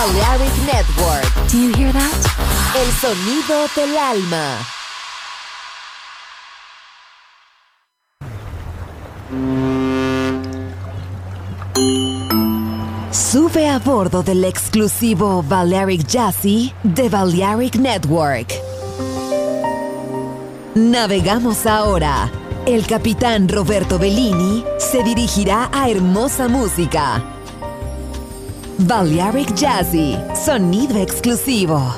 Balearic Network. Do you hear that? El sonido del alma. Sube a bordo del exclusivo Balearic Jazzy de Balearic Network. Navegamos ahora. El capitán Roberto Bellini se dirigirá a hermosa música. Balearic Jazzy, sonido exclusivo.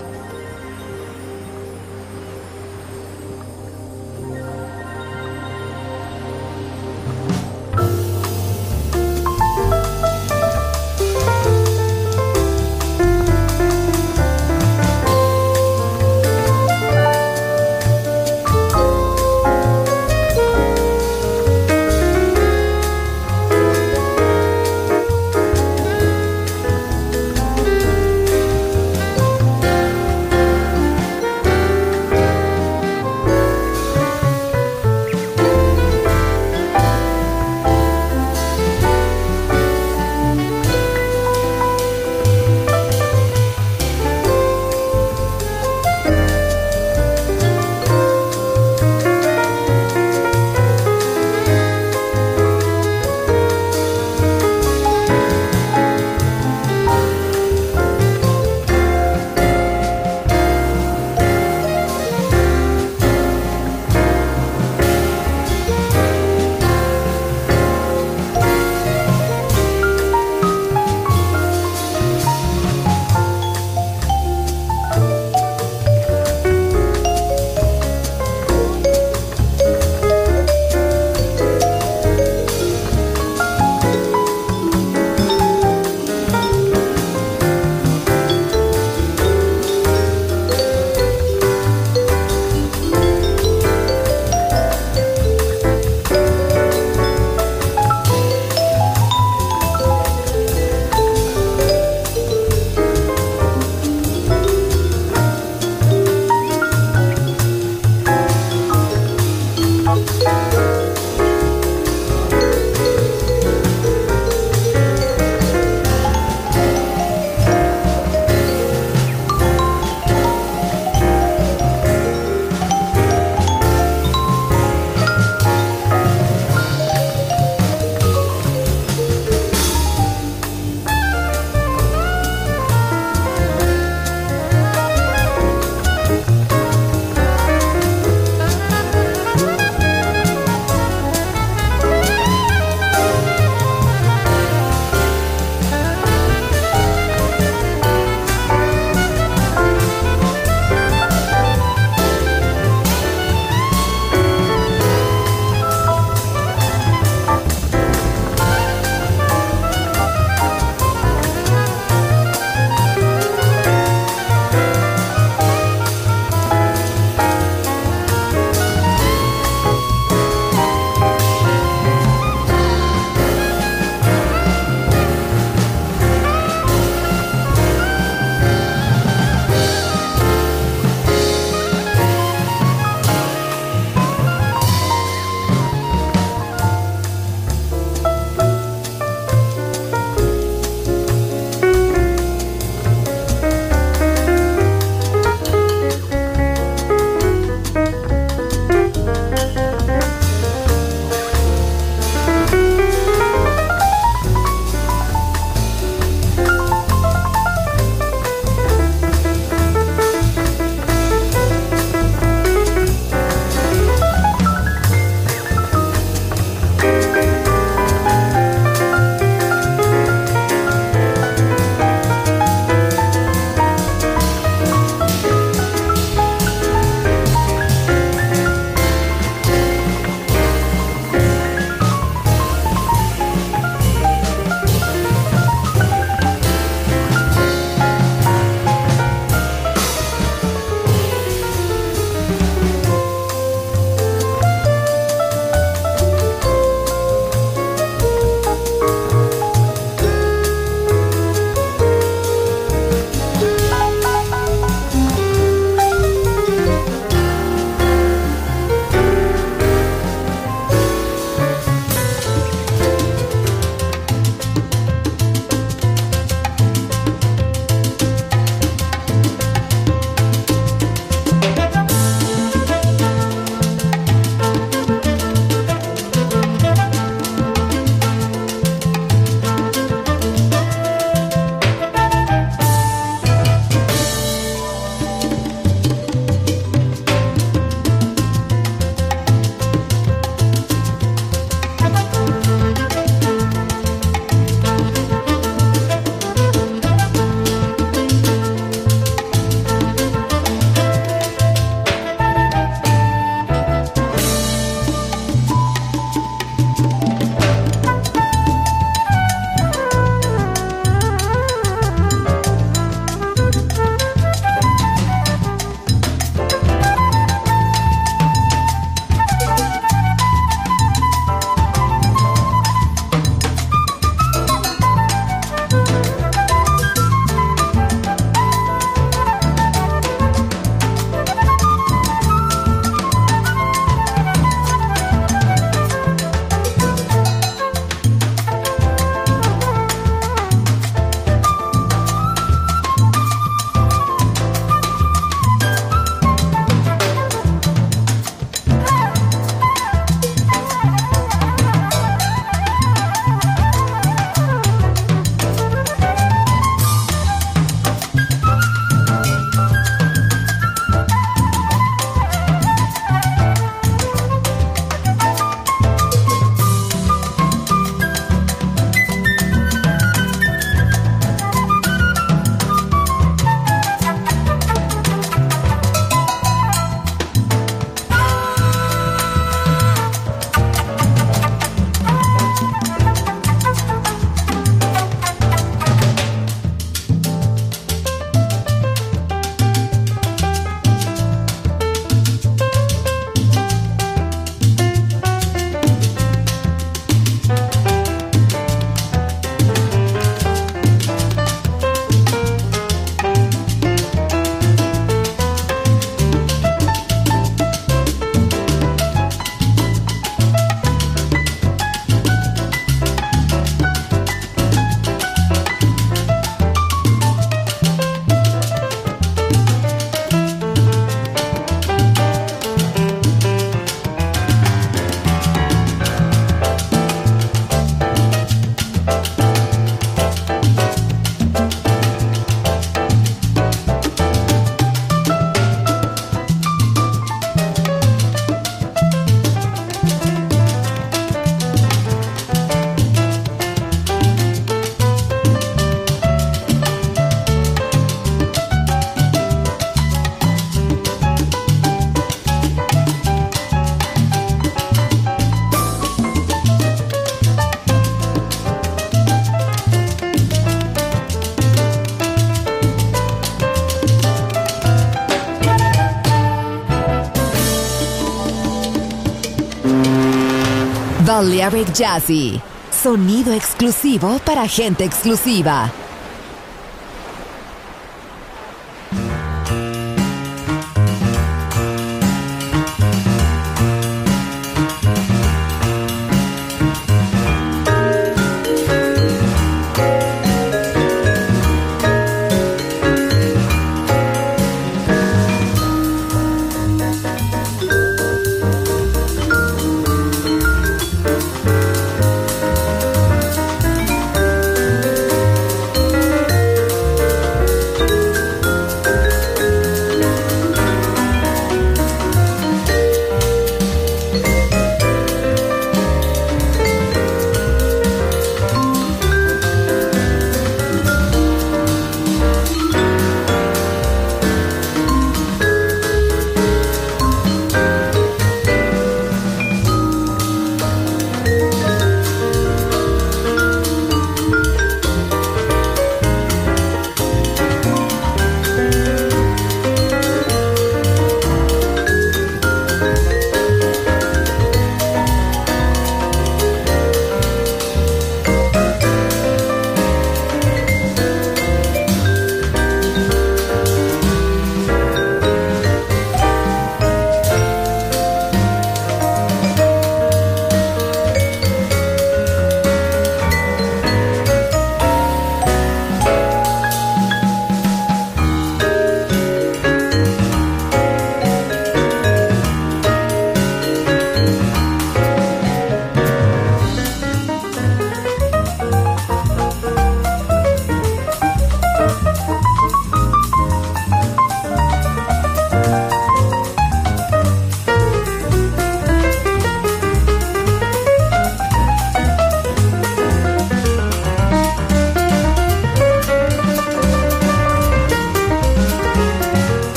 Balearic Jazzy. Sonido exclusivo para gente exclusiva.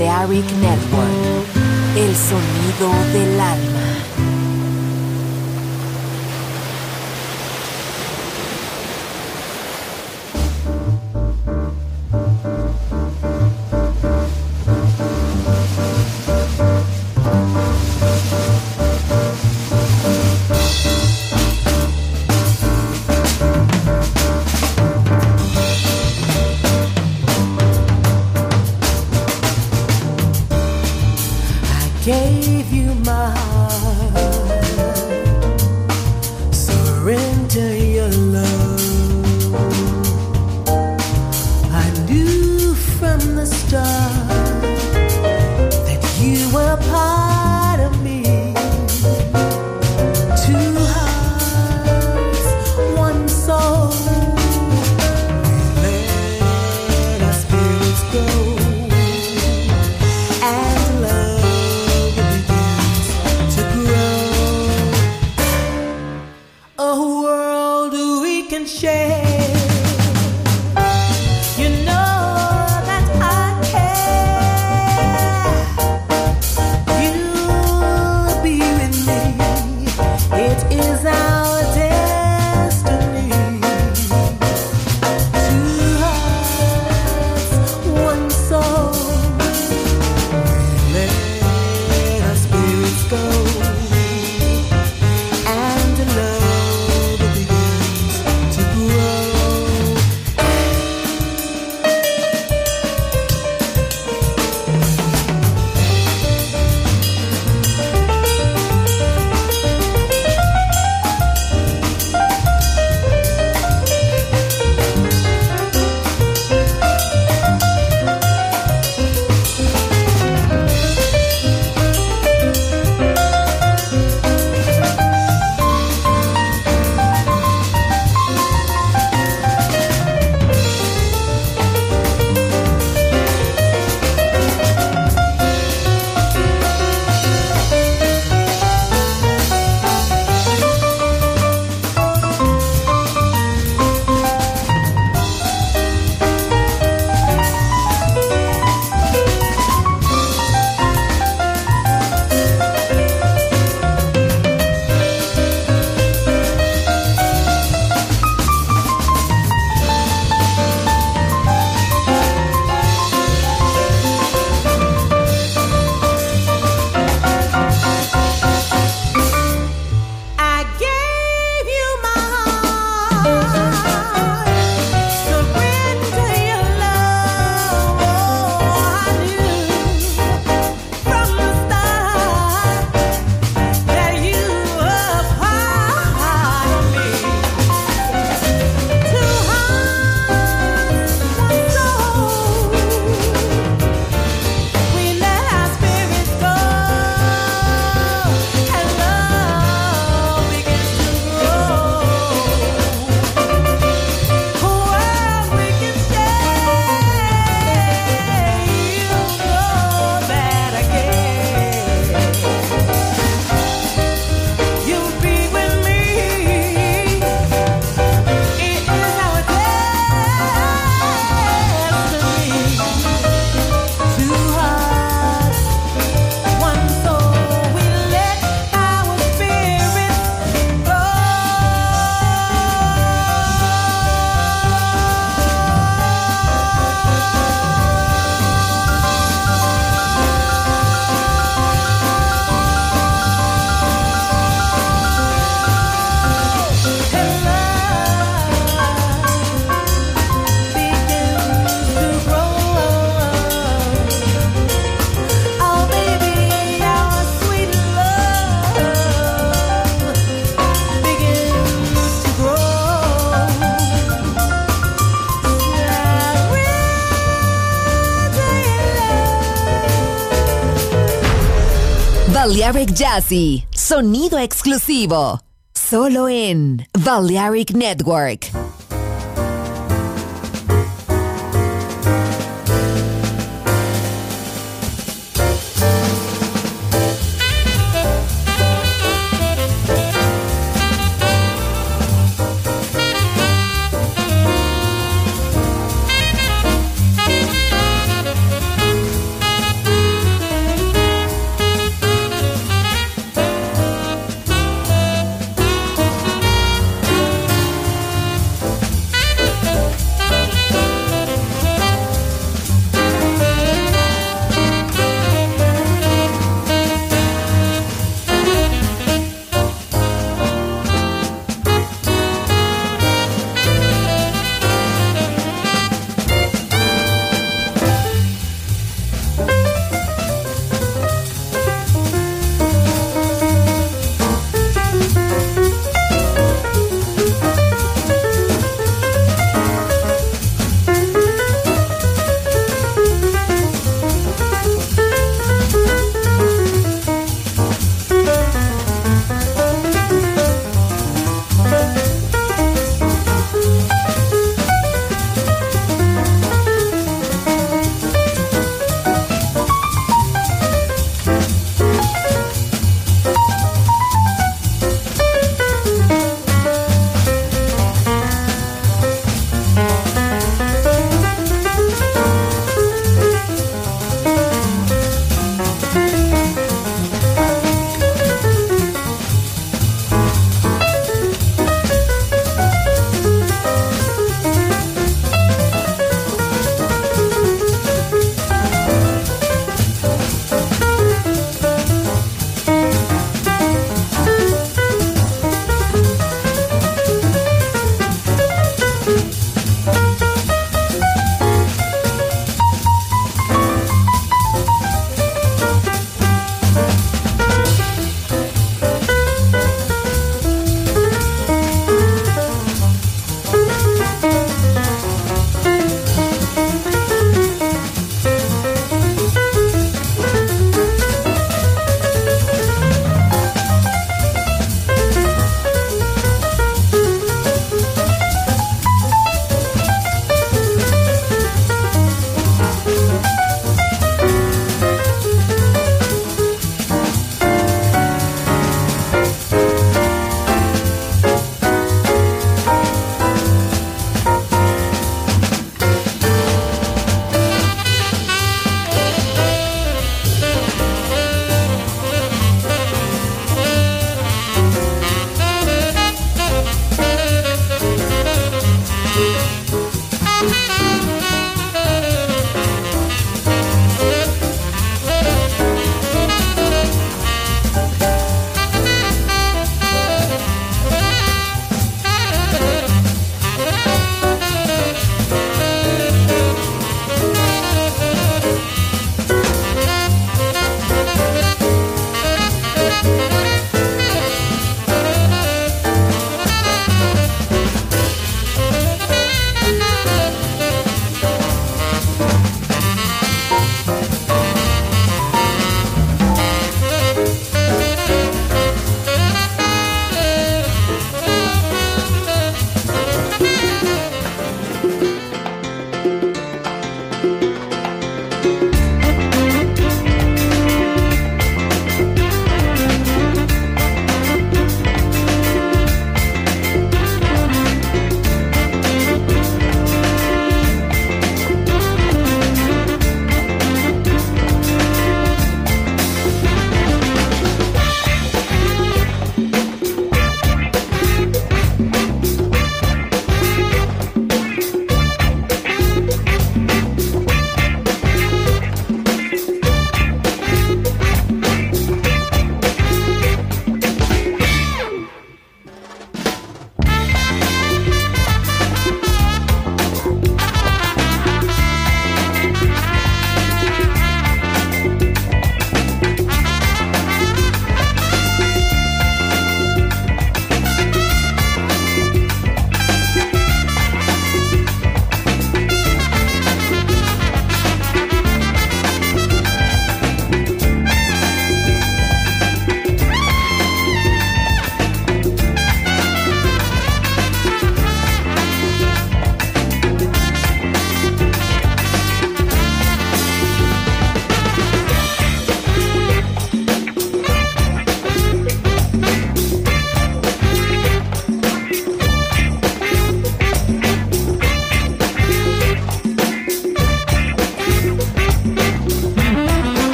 Balearic Network, el sonido del alma. Gave you my heart, surrender your love. I knew from the start that you were part of me. Two hearts, one soul. We let our spirits go and love. Balearic Jazzy, sonido exclusivo, solo en Balearic Network.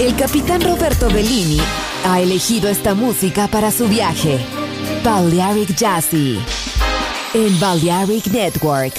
El capitán Roberto Bellini ha elegido esta música para su viaje. Balearic Jazzy en Balearic Network.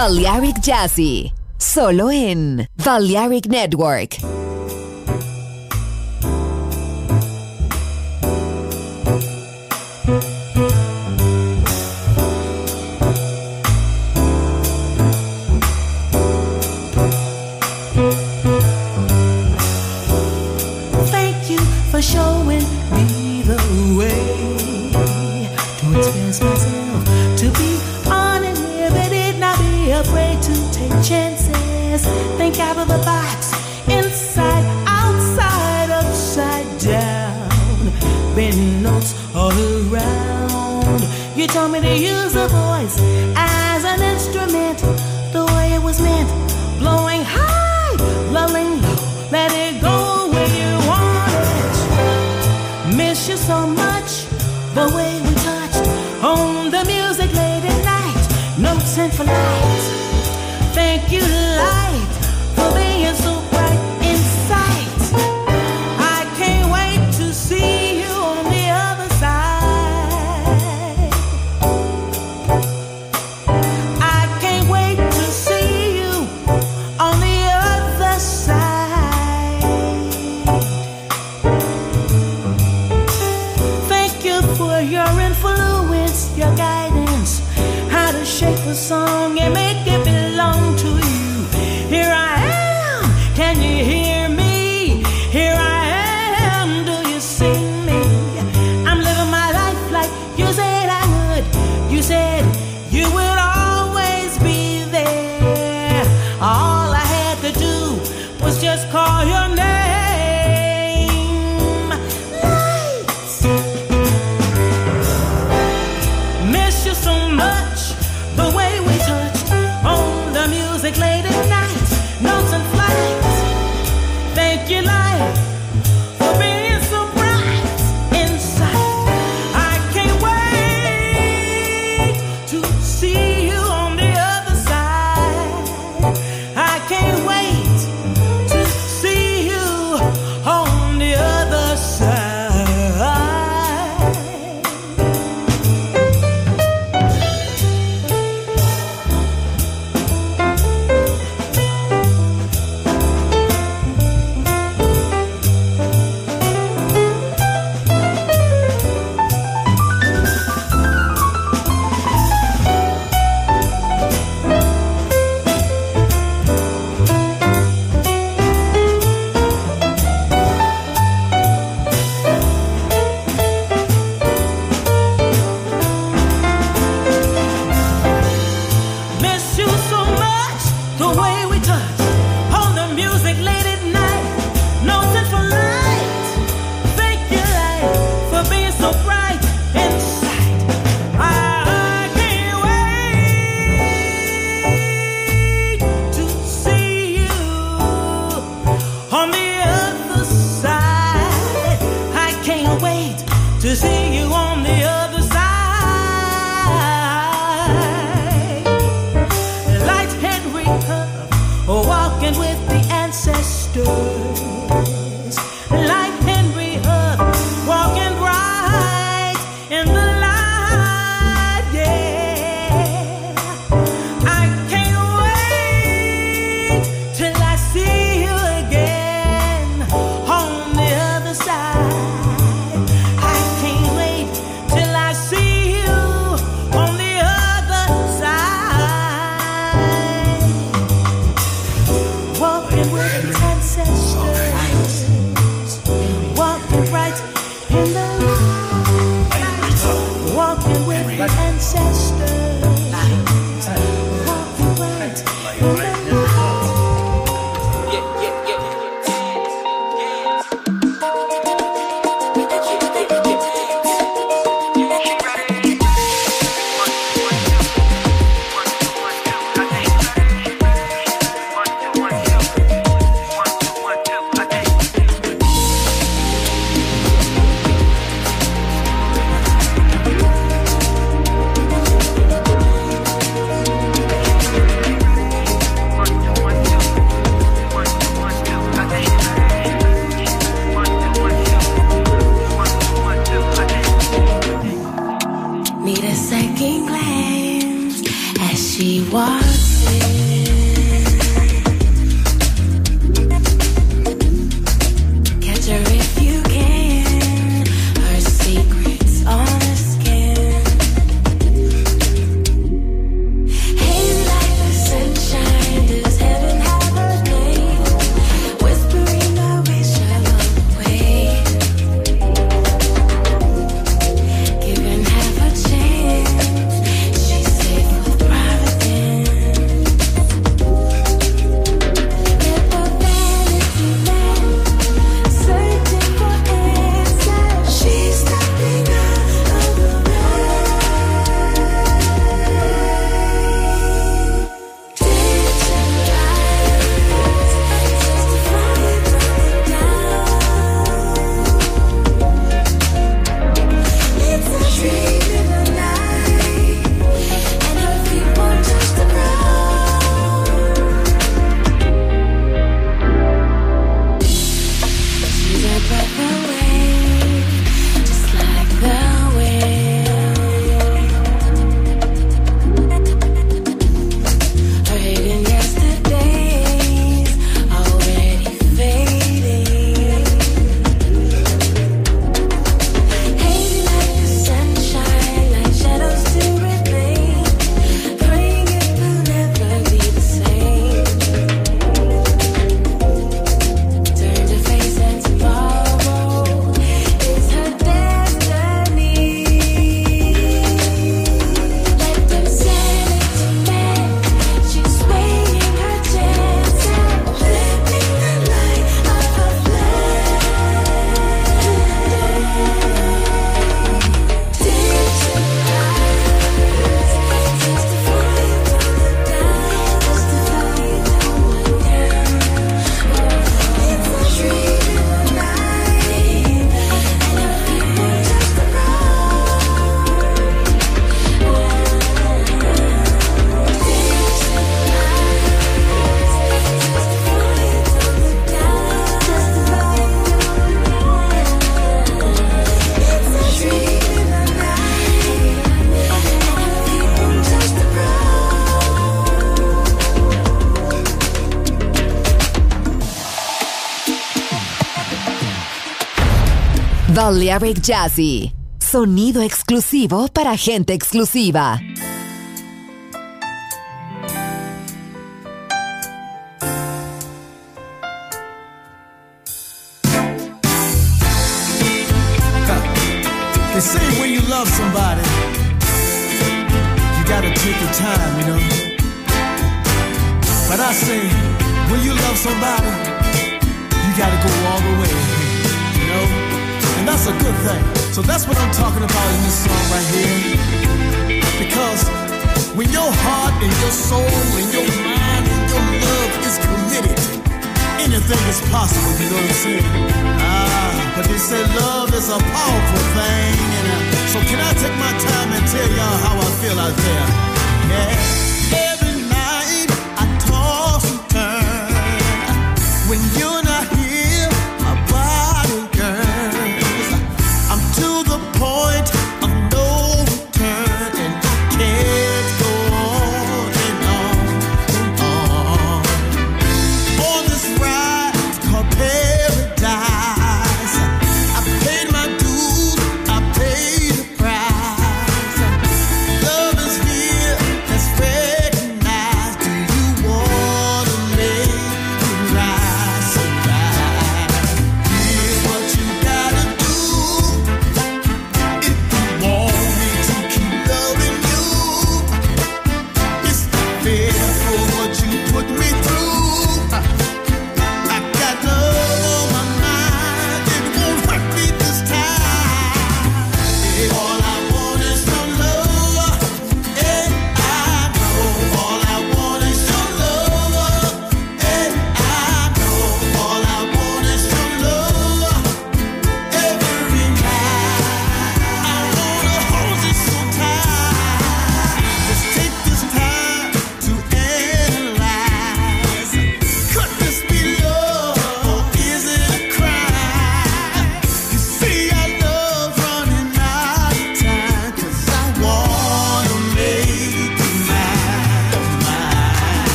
Balearic Jazzy, solo en Balearic Network. Thank you for showing me the way to express myself, to be unlimited, not be afraid to take chances. Think out of the box, inside, outside, upside down. Bending notes all around. You told me to use the voice as an instrument, the way it was meant. Blowing high, lulling low, let it go where you want it. Miss you so much, the way we touched on the music late at night. Notes and for light. Thank you, light, for being so bright in sight. I can't wait to see you on the other side. I can't wait to see you on the other side. Thank you for your influence, your guidance, how to shape a song and make it belong to you. Here I am, can you hear me? Here I am, do you see me? I'm living my life like you said I would. You said you would always be there. All I had to do was just call your name. Lights. Miss you so much, the way we touched on the music late at night. Notes and flights. Thank you, light, for being so bright inside. I can't wait to see you on the other side. I can't wait to see you on the other side. Miss you so much, the way we touch on the music late at night. Notes and for light. Thank you, light, for being so bright inside. I can't wait to see you on the other side. I can't wait to see you on the other side. Light Henry Huff, walking with the ancestors. Light Henry Huff, walking bright in the light, yeah. I can't wait till I see you again on the other side. I can't wait till I see you on the other side. Walking with the ancestors, walking right in the light. Walking with the ancestors, walking right in the light. as she walks in. Catch her if you can, her secrets on her skin. Hazy like the sunshine, does heaven have a name? Whispering the wish along the way. Given half a chance, she's safe with private ends. Little vanity man, searching for answers. She's stepping out of the rain. Dancing lights, testifying from the down. It's a dream in the night, and her feet won't touch the ground. She's a breath away, just like the wind. Her hidden yesterdays already fading. Hazy like the sunshine, like shadows to remain. Praying it will never be the same. Turn to face and tomorrow is her destiny. Let them send it to man. She's waiting her chance and flipping the light of her flame. Dancing lights, testifying from the down, testifying from the down. It's a dream in the night, and her feet won't touch the ground. Dancing lights, testifying from the down, testifying from the down. It's a dream in the night, and her feet won't touch the ground. Balearic Jazzy. Sonido exclusivo para gente exclusiva. They say when you love somebody, you gotta take your time, you know. But I say, when you love somebody, you gotta go all the way, you know. And that's a good thing. So that's what I'm talking about in this song right here. Because when your heart and your soul and your mind and your love is committed, anything is possible, you know what I'm saying? But they say love is a powerful thing. And so can I take my time and tell y'all how I feel out there? Yeah. Every night I toss and turn. When you're not here, my body yearns. I'm to the point of no return, and I can't go on and on and on. On this ride called paradise, I paid my dues, I paid the price. Love is here, that's fair.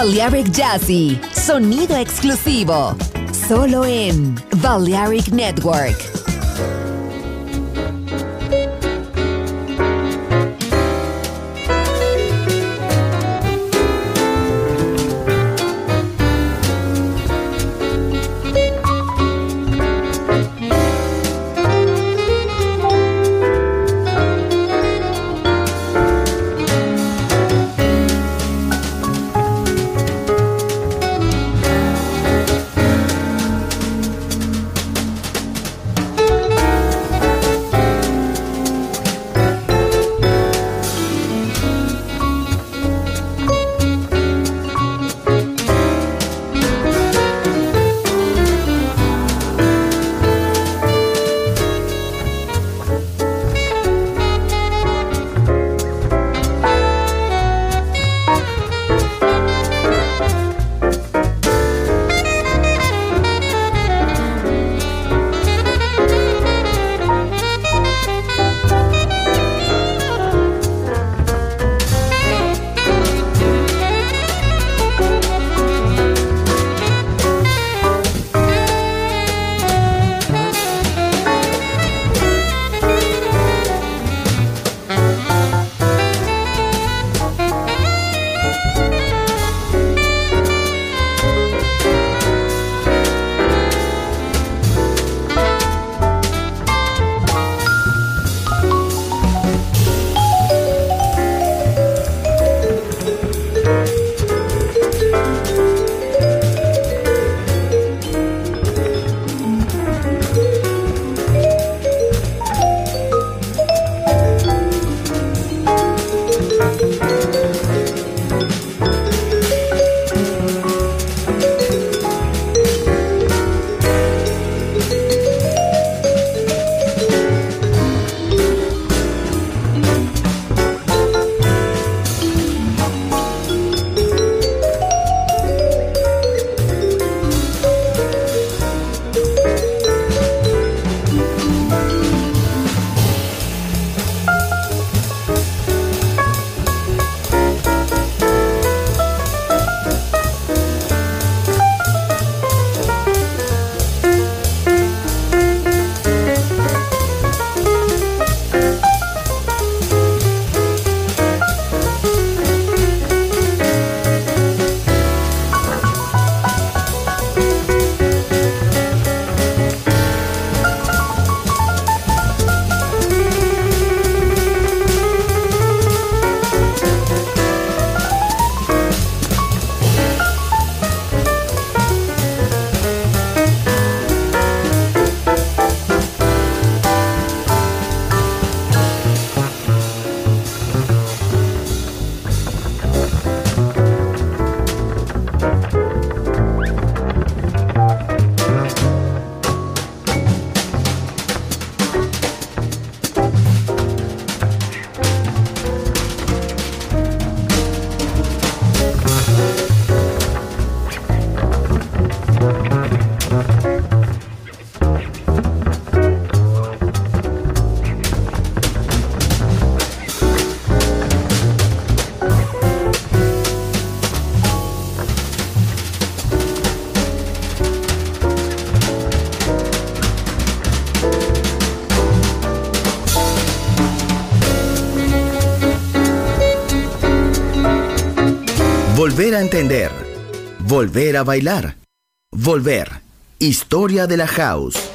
Balearic Jazzy, sonido exclusivo, solo en Balearic Network. Volver a entender, volver a bailar, volver. Historia de la House.